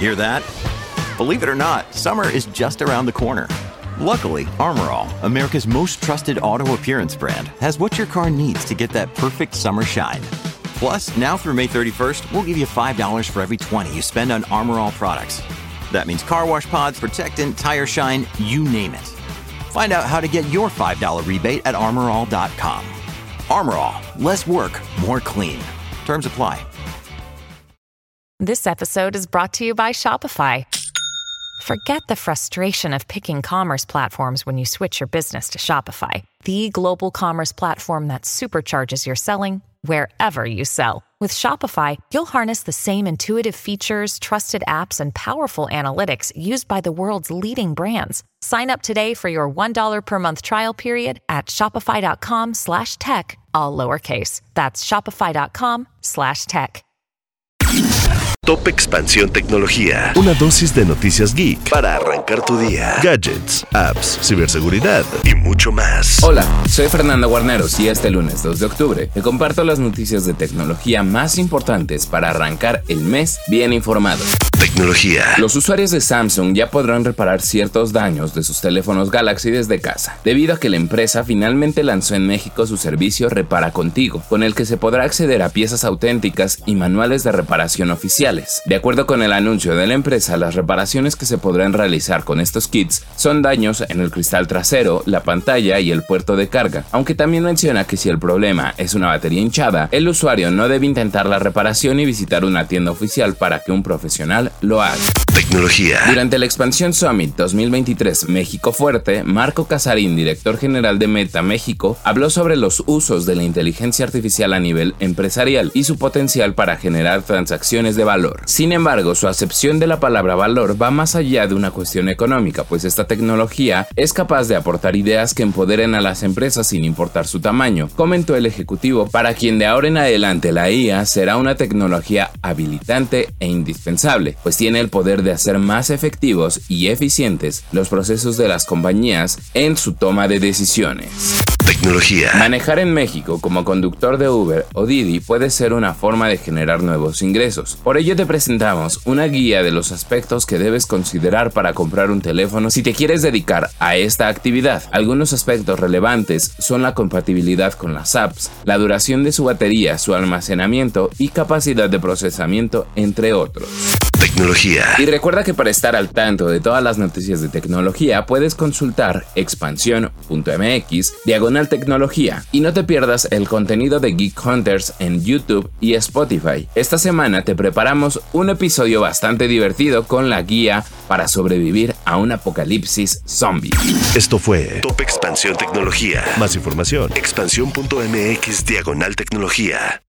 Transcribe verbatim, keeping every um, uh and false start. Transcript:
Hear that? Believe it or not, summer is just around the corner. Luckily, Armor All, America's most trusted auto appearance brand, has what your car needs to get that perfect summer shine. Plus, now through May thirty-first, we'll give you five dollars for every twenty you spend on Armor All products. That means car wash pods, protectant, tire shine, you name it. Find out how to get your five dollars rebate at armor all dot com. Armor All, less work, more clean. Terms apply. This episode is brought to you by Shopify. Forget the frustration of picking commerce platforms when you switch your business to Shopify, the global commerce platform that supercharges your selling wherever you sell. With Shopify, you'll harness the same intuitive features, trusted apps, and powerful analytics used by the world's leading brands. Sign up today for your one dollar per month trial period at shopify.com slash tech, all lowercase. That's shopify.com slash tech. Top Expansión Tecnología. Una dosis de noticias geek para arrancar tu día. Gadgets, apps, ciberseguridad y mucho más. Hola, soy Fernando Guarneros y este lunes dos de octubre te comparto las noticias de tecnología más importantes para arrancar el mes bien informado. Tecnología. Los usuarios de Samsung ya podrán reparar ciertos daños de sus teléfonos Galaxy desde casa, debido a que la empresa finalmente lanzó en México su servicio Repara Contigo, con el que se podrá acceder a piezas auténticas y manuales de reparación oficiales. De acuerdo con el anuncio de la empresa, las reparaciones que se podrán realizar con estos kits son daños en el cristal trasero, la pantalla y el puerto de carga, aunque también menciona que si el problema es una batería hinchada, el usuario no debe intentar la reparación y visitar una tienda oficial para que un profesional lo haga. Tecnología. Durante la Expansión Summit dos mil veintitrés México Fuerte, Marco Casarín, director general de Meta México, habló sobre los usos de la inteligencia artificial a nivel empresarial y su potencial para generar transacciones de valor. Sin embargo, su acepción de la palabra valor va más allá de una cuestión económica, pues esta tecnología es capaz de aportar ideas que empoderen a las empresas sin importar su tamaño, comentó el ejecutivo, para quien de ahora en adelante la I A será una tecnología habilitante e indispensable, pues tiene el poder de hacer más efectivos y eficientes los procesos de las compañías en su toma de decisiones. Tecnología. Manejar en México como conductor de Uber o Didi puede ser una forma de generar nuevos ingresos. Por ello te presentamos una guía de los aspectos que debes considerar para comprar un teléfono si te quieres dedicar a esta actividad. Algunos aspectos relevantes son la compatibilidad con las apps, la duración de su batería, su almacenamiento y capacidad de procesamiento, entre otros. Tecnología. Y recuerda que para estar al tanto de todas las noticias de tecnología puedes consultar expansión punto m x diagonal tecnología y no te pierdas el contenido de Geek Hunters en YouTube y Spotify. Esta semana te preparamos un episodio bastante divertido con la guía para sobrevivir a un apocalipsis zombie. Esto fue Top Expansión Tecnología. Más información, expansión punto m x diagonal tecnología.